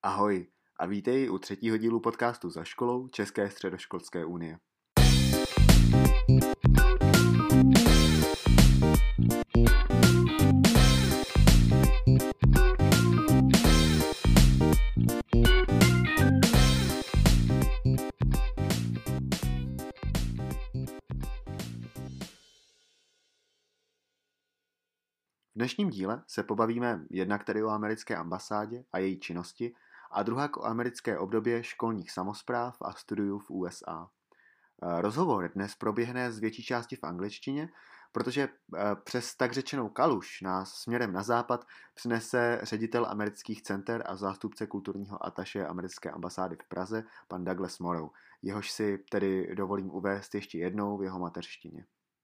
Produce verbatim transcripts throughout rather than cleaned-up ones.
Ahoj a vítej u třetího dílu podcastu Za školou České středoškolské unie. V dnešním díle se pobavíme jednak tedy o americké ambasádě a její činnosti a druhak o americké obdobě školních samospráv a studiů v U S A. Rozhovor dnes proběhne z větší části v angličtině, protože přes tak řečenou kaluž nás směrem na západ přinese ředitel amerických center a zástupce kulturního ataše americké ambasády v Praze, pan Douglas Morrow, jehož si tedy dovolím uvést ještě jednou v jeho mateřštině.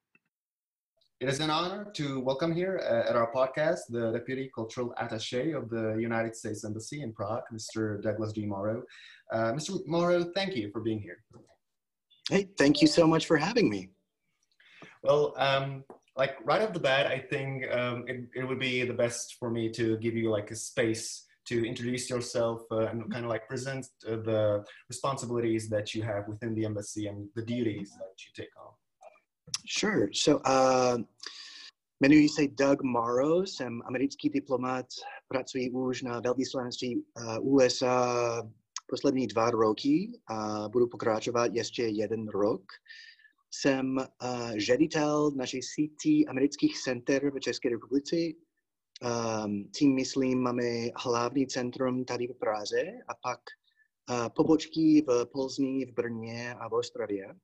It is an honor to welcome here uh, at our podcast the Deputy Cultural Attaché of the United States Embassy in Prague, Mister Douglas D. Morrow. Uh, Mister Morrow, thank you for being here. Hey, thank you so much for having me. Well, um, like right off the bat, I think um, it, it would be the best for me to give you like a space to introduce yourself uh, and kind of like present uh, the responsibilities that you have within the embassy and the duties that you take on. Sure. So, uh, jmenuji se Doug Morrow, jsem americký diplomat, pracuji už na velvyslanectví uh, U S A poslední dva roky a budu pokračovat ještě jeden rok. Jsem uh, ředitel naší sítí amerických center v České republice. Um, tím myslím, máme hlavní centrum tady v Praze a pak uh, pobočky v Plzni, v Brně a v Ostravě.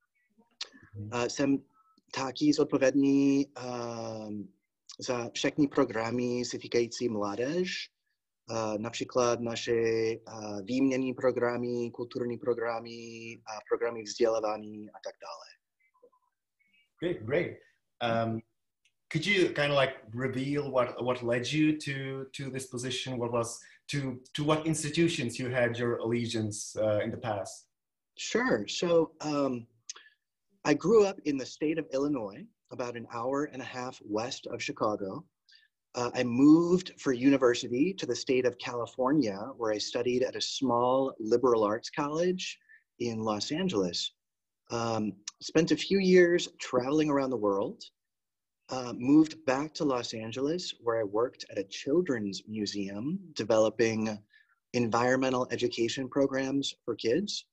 Uh, jsem taky zodpovědný uh, za všechny programy se týkající mládež, uh, například naše uh, výměnné programy, kulturní programy a programy vzdělávání a tak dále. Great, great. Um, could you kind of like reveal what what led you to to this position? What was to to what institutions you had your allegiance uh, in the past? Sure. So. Um, I grew up in the state of Illinois, about an hour and a half west of Chicago. Uh, I moved for university to the state of California, where I studied at a small liberal arts college in Los Angeles. Um, spent a few years traveling around the world, uh, moved back to Los Angeles, where I worked at a children's museum developing environmental education programs for kids.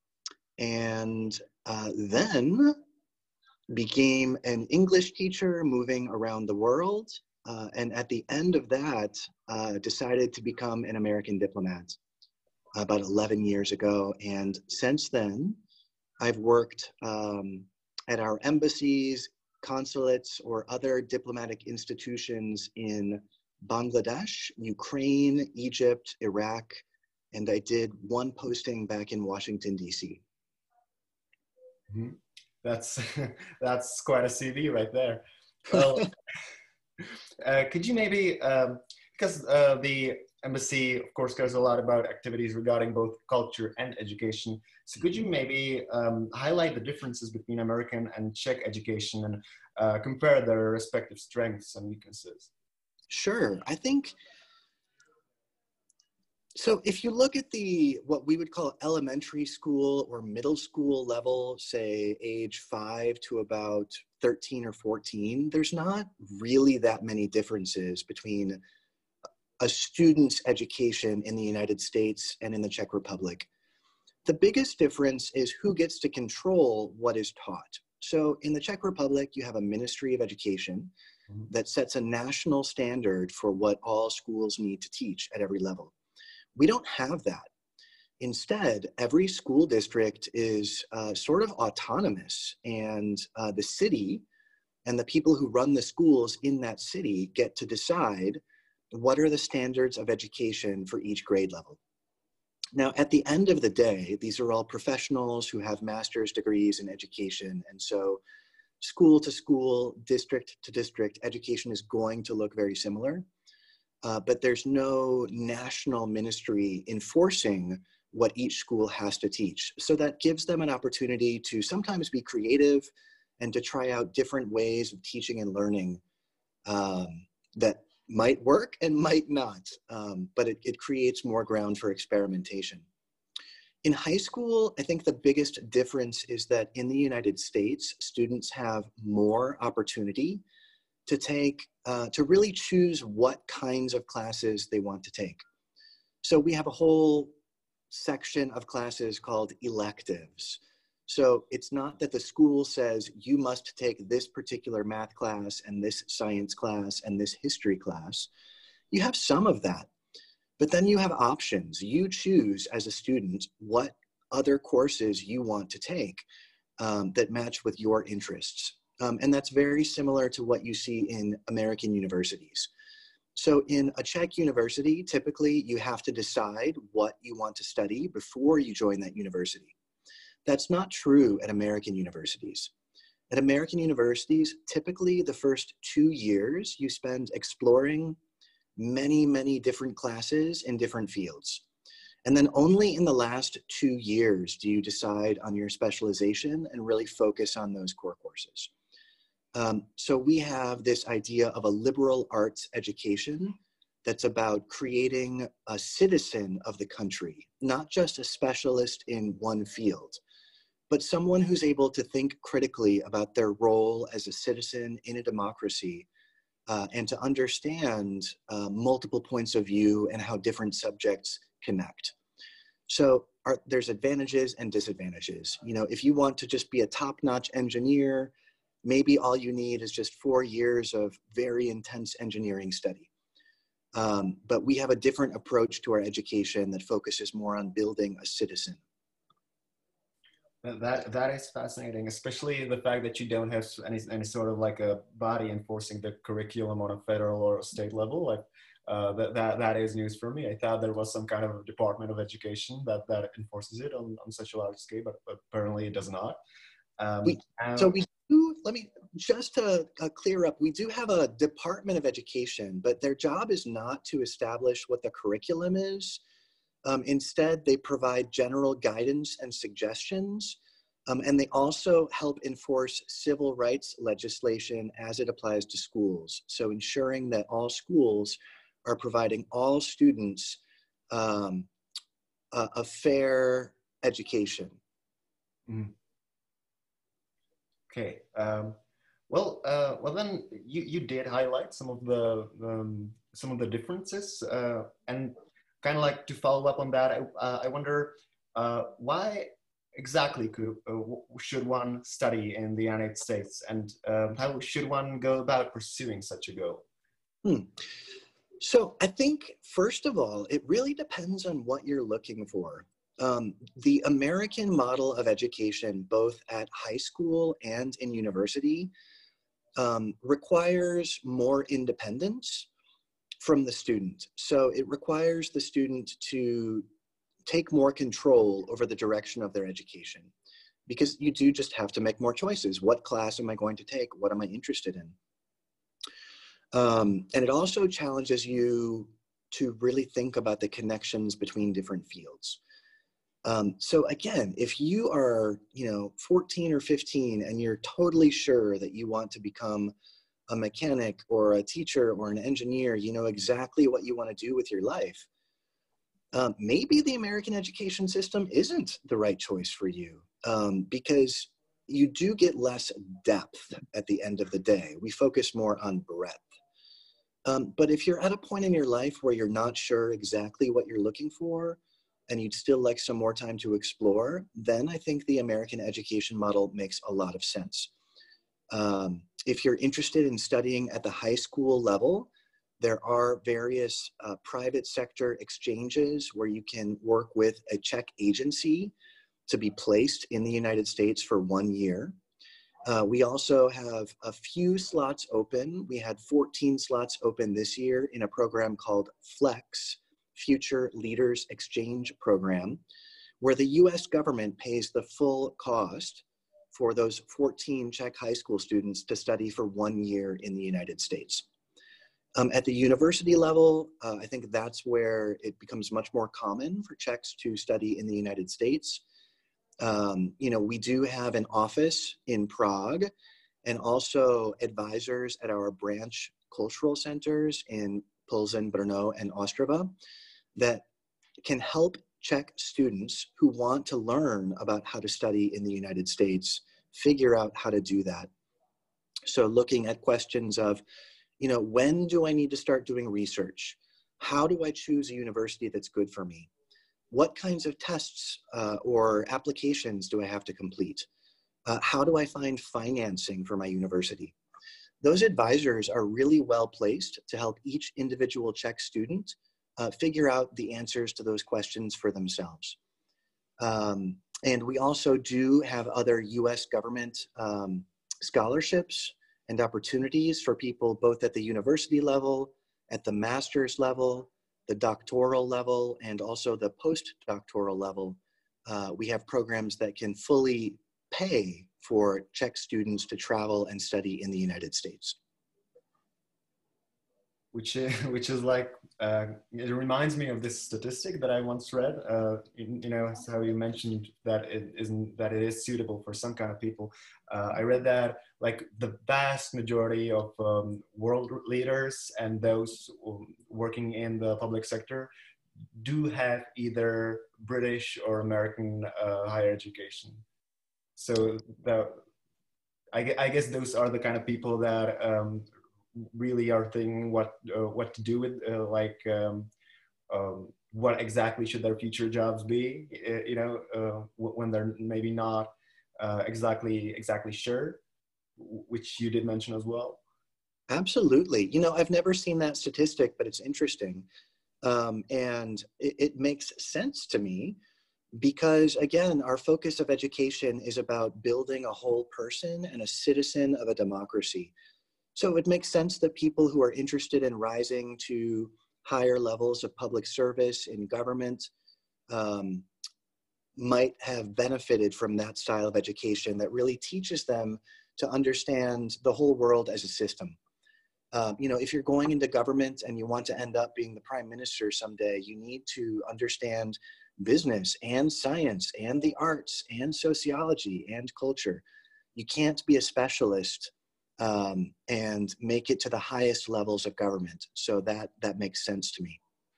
And uh, then became an English teacher moving around the world. Uh, and at the end of that, uh, decided to become an American diplomat about eleven years ago. And since then, I've worked um, at our embassies, consulates, or other diplomatic institutions in Bangladesh, Ukraine, Egypt, Iraq, and I did one posting back in Washington, D C Mm-hmm. That's that's quite a C V right there. Well, uh, could you maybe, um, because uh, the embassy, of course, cares a lot about activities regarding both culture and education. So could you maybe um, highlight the differences between American and Czech education and uh, compare their respective strengths and weaknesses? Sure. I think, so if you look at the, what we would call elementary school or middle school level, say age five to about thirteen or fourteen, there's not really that many differences between a student's education in the United States and in the Czech Republic. The biggest difference is who gets to control what is taught. So in the Czech Republic, you have a Ministry of Education that sets a national standard for what all schools need to teach at every level. We don't have that. Instead, every school district is uh, sort of autonomous, and uh, the city and the people who run the schools in that city get to decide what are the standards of education for each grade level. Now, at the end of the day, these are all professionals who have master's degrees in education, and so school to school, district to district, education is going to look very similar. Uh, but there's no national ministry enforcing what each school has to teach. So that gives them an opportunity to sometimes be creative and to try out different ways of teaching and learning um, that might work and might not, um, but it, it creates more ground for experimentation. In high school, I think the biggest difference is that in the United States, students have more opportunity to take, uh, to really choose what kinds of classes they want to take. So we have a whole section of classes called electives. So it's not that the school says you must take this particular math class and this science class and this history class. You have some of that, but then you have options. You choose as a student what other courses you want to take um, that match with your interests. Um, and that's very similar to what you see in American universities. So in a Czech university, typically you have to decide what you want to study before you join that university. That's not true at American universities. At American universities, typically the first two years you spend exploring many, many different classes in different fields. And then only in the last two years do you decide on your specialization and really focus on those core courses. Um, so we have this idea of a liberal arts education that's about creating a citizen of the country, not just a specialist in one field, but someone who's able to think critically about their role as a citizen in a democracy uh, and to understand uh, multiple points of view and how different subjects connect. So are, there's advantages and disadvantages. You know, if you want to just be a top-notch engineer, maybe all you need is just four years of very intense engineering study. Um, but we have a different approach to our education that focuses more on building a citizen. That, that is fascinating, especially the fact that you don't have any, any sort of like a body enforcing the curriculum on a federal or state level. Like, uh, that, that, that is news for me. I thought there was some kind of department of education that, that enforces it on, on such a large scale, but, but apparently it does not. Um, we, um, so we do, let me, just to uh, clear up, we do have a Department of Education, but their job is not to establish what the curriculum is. Um, instead, they provide general guidance and suggestions, um, and they also help enforce civil rights legislation as it applies to schools. So ensuring that all schools are providing all students um, a, a fair education. Mm. Okay. Um, well, uh, well then you, you did highlight some of the um, some of the differences, uh, and kind of like to follow up on that, I, uh, I wonder uh, why exactly could, uh, should one study in the United States, and um, how should one go about pursuing such a goal? Hmm. So I think, first of all, it really depends on what you're looking for. Um, the American model of education, both at high school and in university, um, requires more independence from the student. So it requires the student to take more control over the direction of their education, because you do just have to make more choices. What class am I going to take? What am I interested in? Um, and it also challenges you to really think about the connections between different fields. Um, so again, if you are, you know, fourteen or fifteen and you're totally sure that you want to become a mechanic or a teacher or an engineer, you know exactly what you want to do with your life, um, maybe the American education system isn't the right choice for you, um, because you do get less depth at the end of the day. We focus more on breadth. Um, but if you're at a point in your life where you're not sure exactly what you're looking for, and you'd still like some more time to explore, then I think the American education model makes a lot of sense. Um, if you're interested in studying at the high school level, there are various uh, private sector exchanges where you can work with a Czech agency to be placed in the United States for one year. Uh, we also have a few slots open. We had fourteen slots open this year in a program called FLEX, Future Leaders Exchange Program, where the U S government pays the full cost for those fourteen Czech high school students to study for one year in the United States. Um, at the university level, uh, I think that's where it becomes much more common for Czechs to study in the United States. Um, you know, we do have an office in Prague and also advisors at our branch cultural centers in Plzeň, Brno, and Ostrava that can help Czech students who want to learn about how to study in the United States figure out how to do that. So looking at questions of, you know, when do I need to start doing research? How do I choose a university that's good for me? What kinds of tests uh, or applications do I have to complete? Uh, how do I find financing for my university? Those advisors are really well placed to help each individual Czech student uh, figure out the answers to those questions for themselves. Um, and we also do have other U S government um, scholarships and opportunities for people both at the university level, at the master's level, the doctoral level, and also the postdoctoral level. Uh, we have programs that can fully pay for Czech students to travel and study in the United States. Which is, which is like, uh, it reminds me of this statistic that I once read, uh, you, you know, how you mentioned that it isn't, that it is suitable for some kind of people. Uh, I read that like the vast majority of um, world leaders and those working in the public sector do have either British or American uh, higher education. So the, I, I guess those are the kind of people that um, really are thinking what uh, what to do with uh, like um, um, what exactly should their future jobs be, uh, you know, uh, when they're maybe not uh, exactly exactly sure, which you did mention as well. Absolutely. You know, I've never seen that statistic, but it's interesting. Um, and it, it makes sense to me because, again, our focus of education is about building a whole person and a citizen of a democracy. So it makes sense that people who are interested in rising to higher levels of public service in government um, might have benefited from that style of education that really teaches them to understand the whole world as a system. Um, you know, if you're going into government and you want to end up being the prime minister someday, you need to understand business and science and the arts and sociology and culture. You can't be a specialist um, and make it to the highest levels of government. So that, that makes sense to me.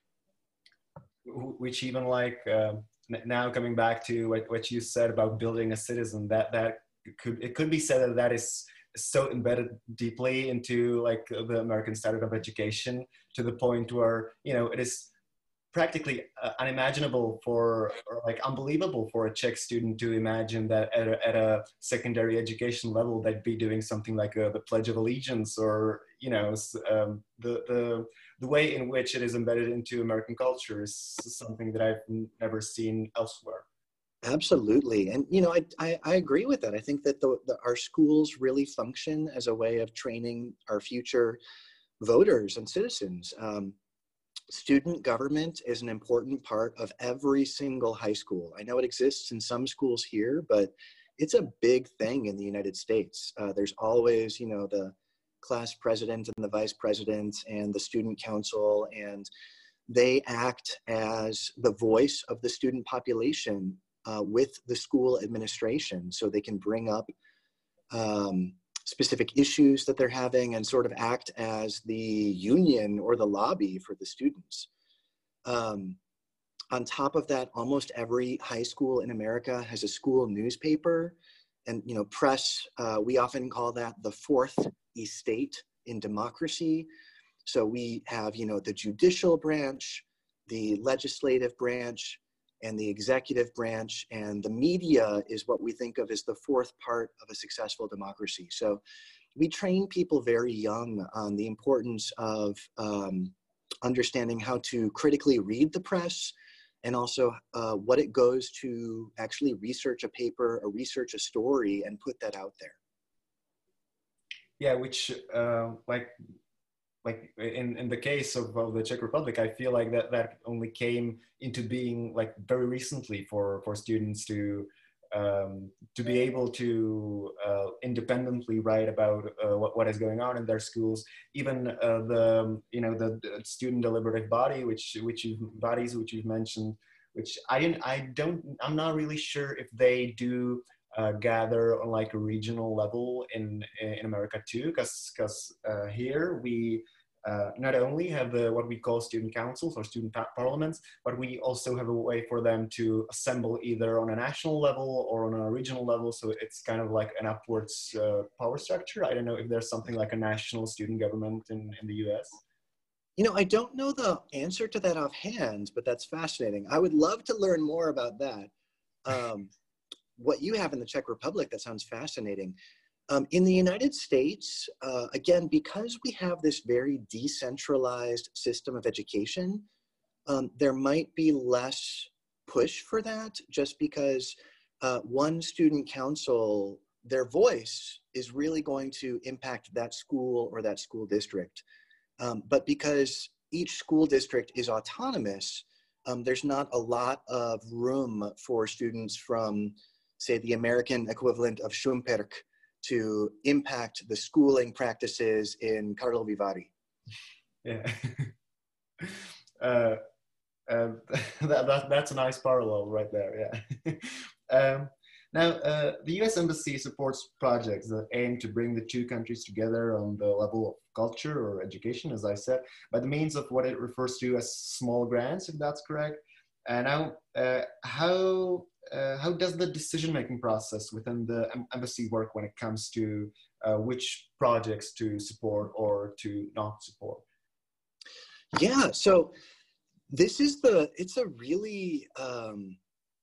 Which even like, uh, now coming back to what, what you said about building a citizen, that, that could, it could be said that that is so embedded deeply into like the American standard of education to the point where, you know, it is practically uh, unimaginable for, or like unbelievable for a Czech student to imagine that at a, at a secondary education level, they'd be doing something like a, the Pledge of Allegiance or, you know, um, the, the, the way in which it is embedded into American culture is something that I've never seen elsewhere. Absolutely. And, you know, I, I, I agree with that. I think that the, the, our schools really function as a way of training our future voters and citizens. Um, Student government is an important part of every single high school. I know it exists in some schools here, but it's a big thing in the United States. Uh, there's always, you know, the class president and the vice president and the student council, and they act as the voice of the student population uh, with the school administration. So they can bring up um, specific issues that they're having and sort of act as the union or the lobby for the students. Um, on top of that, almost every high school in America has a school newspaper and, you know, press. Uh, we often call that the fourth estate in democracy. So we have, you know, the judicial branch, the legislative branch, and the executive branch, and the media is what we think of as the fourth part of a successful democracy. So we train people very young on the importance of um, understanding how to critically read the press, and also uh, what it goes to actually research a paper or research a story and put that out there. Yeah, which uh, like, like in, in the case of, of the Czech Republic, I feel like that, that only came into being like very recently for, for students to, um, to be able to uh, independently write about uh, what, what is going on in their schools. Even uh, the, you know, the, the student deliberative body, which, which you, bodies which you've mentioned, which I didn't, I don't, I'm not really sure if they do uh, gather on like a regional level in in America too, because because uh, here we uh, not only have the what we call student councils or student par- parliaments, but we also have a way for them to assemble either on a national level or on a regional level. So it's kind of like an upwards uh, power structure. I don't know if there's something like a national student government in, in the U S. You know, I don't know the answer to that offhand, but that's fascinating. I would love to learn more about that. Um, what you have in the Czech Republic, that sounds fascinating. Um, in the United States, uh, again, because we have this very decentralized system of education, um, there might be less push for that, just because uh, one student council, their voice is really going to impact that school or that school district. Um, but because each school district is autonomous, um, there's not a lot of room for students from, say, the American equivalent of Šumperk to impact the schooling practices in Karlovy Vary. Yeah. uh, um, that, that, that's a nice parallel right there, yeah. um, now, uh, the U S Embassy supports projects that aim to bring the two countries together on the level of culture or education, as I said, by the means of what it refers to as small grants, if that's correct. And now, uh, how uh, how does the decision-making process within the embassy work when it comes to uh, which projects to support or to not support? Yeah, so this is the, it's a really, um,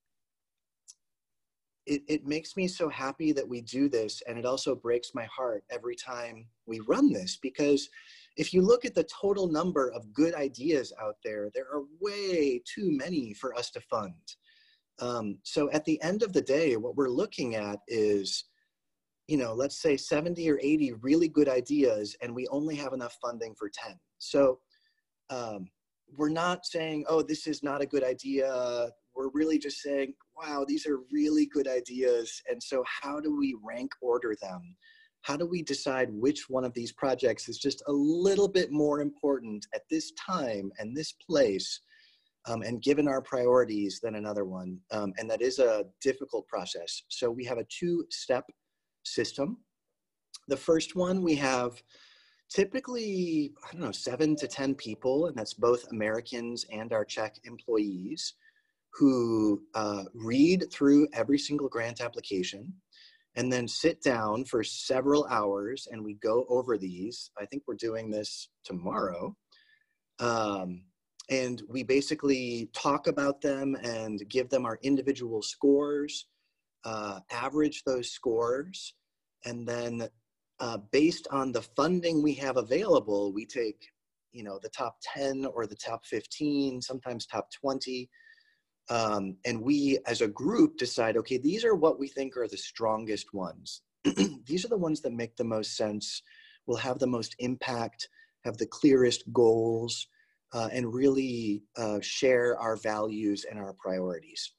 it, it makes me so happy that we do this, and it also breaks my heart every time we run this, because if you look at the total number of good ideas out there, there are way too many for us to fund. Um, so at the end of the day, what we're looking at is, you know, let's say seventy or eighty really good ideas, and we only have enough funding for ten. So um, we're not saying, oh, this is not a good idea. We're really just saying, wow, these are really good ideas. And so how do we rank order them? How do we decide which one of these projects is just a little bit more important at this time and this place, um, and given our priorities, than another one? Um, and that is a difficult process. So we have a two-step system. The first one, we have typically, I don't know, seven to ten people, and that's both Americans and our Czech employees, who uh, read through every single grant application and then sit down for several hours and we go over these. I think we're doing this tomorrow. Um, and we basically talk about them and give them our individual scores, uh, average those scores, and then uh, based on the funding we have available, we take, you know, the top ten or the top fifteen, sometimes top twenty, Um, and we as a group decide, okay, these are what we think are the strongest ones. These are the ones that make the most sense, will have the most impact, have the clearest goals, uh, and really uh, share our values and our priorities.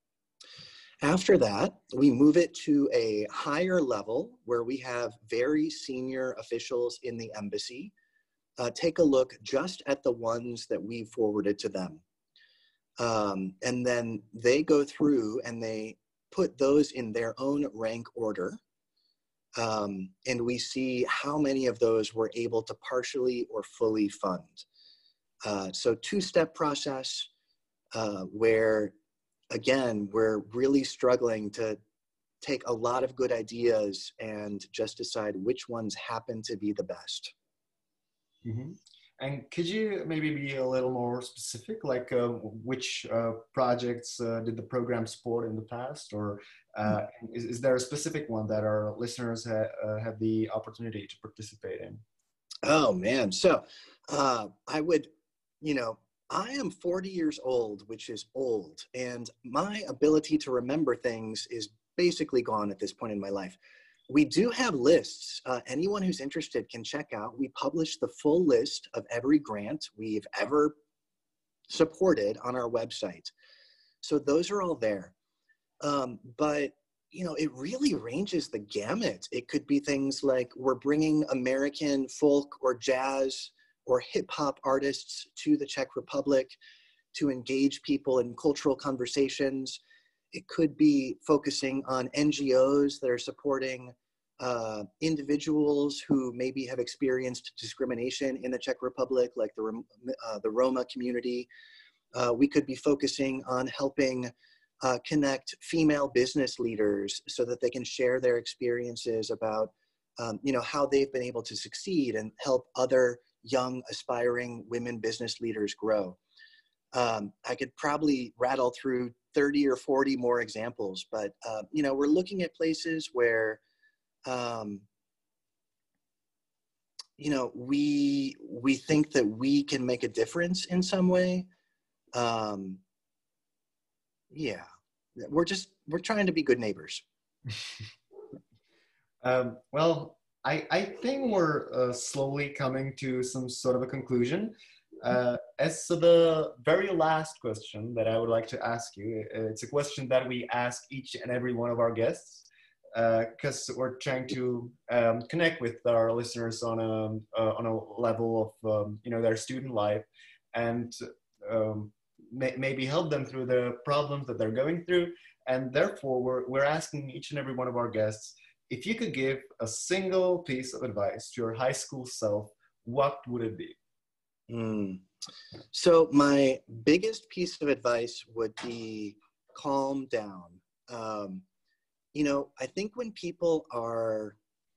After that, we move it to a higher level where we have very senior officials in the embassy uh, take a look just at the ones that we forwarded to them. Um, and then they go through and they put those in their own rank order. Um, and we see how many of those we're able to partially or fully fund. Uh, so two-step process uh, where, again, we're really struggling to take a lot of good ideas and just decide which ones happen to be the best. Mm-hmm. And could you maybe be a little more specific, like uh, which uh, projects uh, did the program support in the past, or uh, is, is there a specific one that our listeners ha uh, have the opportunity to participate in? Oh man, so uh, I would, you know, I am forty years old, which is old, and my ability to remember things is basically gone at this point in my life. We do have lists. Uh, anyone who's interested can check out. We publish the full list of every grant we've ever supported on our website. So those are all there. Um, but, you know, it really ranges the gamut. It could be things like we're bringing American folk or jazz or hip hop artists to the Czech Republic to engage people in cultural conversations. It could be focusing on N G Os that are supporting uh, individuals who maybe have experienced discrimination in the Czech Republic, like the, uh, the Roma community. Uh, we could be focusing on helping uh, connect female business leaders so that they can share their experiences about um, you know, how they've been able to succeed and help other young aspiring women business leaders grow. Um, I could probably rattle through thirty or forty more examples, but uh, you know, we're looking at places where um, you know, we we think that we can make a difference in some way. Um, yeah, we're just we're trying to be good neighbors. um, well, I I think we're uh, slowly coming to some sort of a conclusion. Uh, as to the very last question that I would like to ask you, it's a question that we ask each and every one of our guests, because uh, we're trying to um, connect with our listeners on a uh, on a level of um, you know, their student life, and um, may, maybe help them through the problems that they're going through. And therefore, we're we're asking each and every one of our guests, if you could give a single piece of advice to your high school self, what would it be? Mm. So my biggest piece of advice would be calm down. Um, you know, I think when people are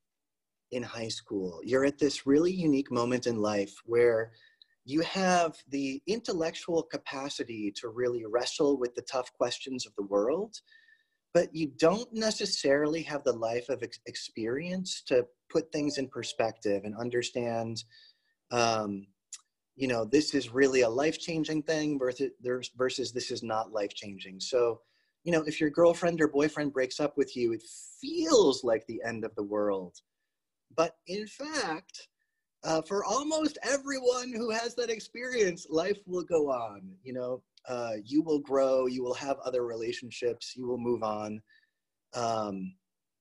in high school, you're at this really unique moment in life where you have the intellectual capacity to really wrestle with the tough questions of the world, but you don't necessarily have the life of ex- experience to put things in perspective and understand um, you know, this is really a life-changing thing versus, versus this is not life-changing. So, you know, if your girlfriend or boyfriend breaks up with you, it feels like the end of the world. But in fact, uh, for almost everyone who has that experience, life will go on. You know, uh, you will grow, you will have other relationships, you will move on. Um,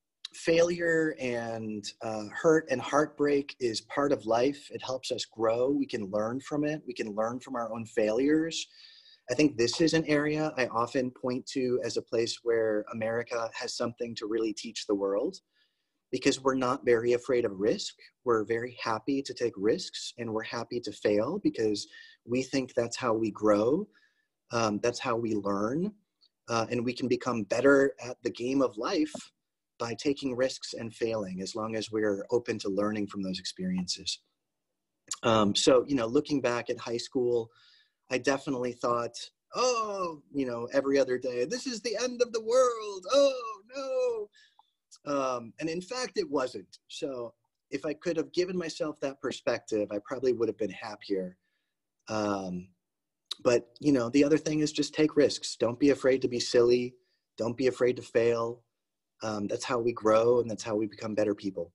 Failure and uh, hurt and heartbreak is part of life. It helps us grow. We can learn from it. We can learn from our own failures. I think this is an area I often point to as a place where America has something to really teach the world, because we're not very afraid of risk. We're very happy to take risks, and we're happy to fail because we think that's how we grow. Um, that's how we learn. Uh, and we can become better at the game of life by taking risks and failing, as long as we're open to learning from those experiences. Um, so, you know, looking back at high school, I definitely thought, oh, you know, every other day, this is the end of the world. Oh, no. Um, and in fact, it wasn't. So if I could have given myself that perspective, I probably would have been happier. Um, but, you know, the other thing is just take risks. Don't be afraid to be silly. Don't be afraid to fail. Um, that's how we grow, and that's how we become better people.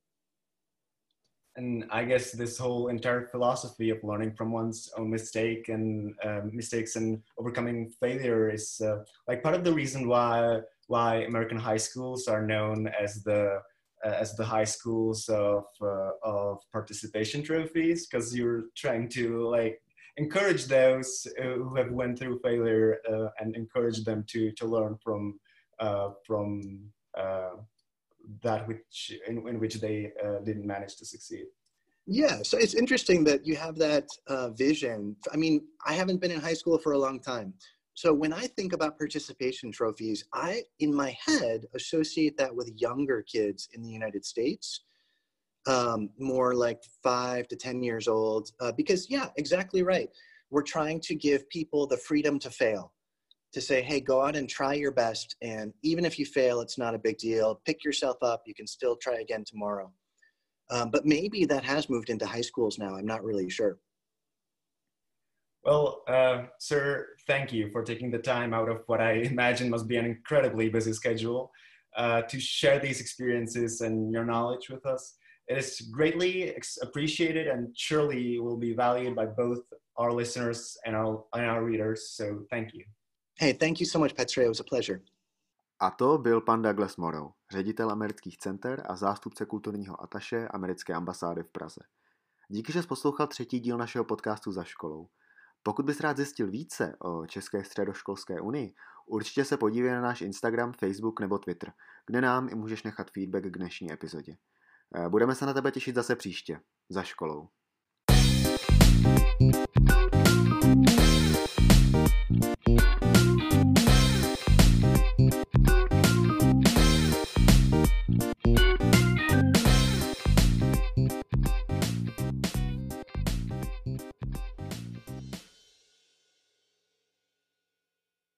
And I guess this whole entire philosophy of learning from one's own mistake and uh, mistakes and overcoming failure is uh, like part of the reason why why American high schools are known as the uh, as the high schools of uh, of participation trophies, because you're trying to like encourage those uh, who have went through failure uh, and encourage them to to learn from uh, from Uh, that which in, in which they uh, didn't manage to succeed. Yeah, so it's interesting that you have that uh, vision. I mean, I haven't been in high school for a long time. So when I think about participation trophies, I, in my head, associate that with younger kids in the United States, um, more like five to ten years old, uh, because yeah, exactly right. We're trying to give people the freedom to fail. To say, hey, go out and try your best. And even if you fail, it's not a big deal. Pick yourself up. You can still try again tomorrow. Um, but maybe that has moved into high schools now. I'm not really sure. Well, uh, sir, thank you for taking the time out of what I imagine must be an incredibly busy schedule uh, to share these experiences and your knowledge with us. It is greatly appreciated and surely will be valued by both our listeners and our, and our readers. So thank you. Hey, thank you so much, Petře. It was a pleasure. A to byl pan Douglas Morrow, ředitel amerických center a zástupce kulturního ataše americké ambasády v Praze. Díky, že jsi poslouchal třetí díl našeho podcastu Za školou. Pokud bys rád zjistil více o České středoškolské unii, určitě se podívej na náš Instagram, Facebook nebo Twitter, kde nám i můžeš nechat feedback k dnešní epizodě. Budeme se na tebe těšit zase příště, za školou.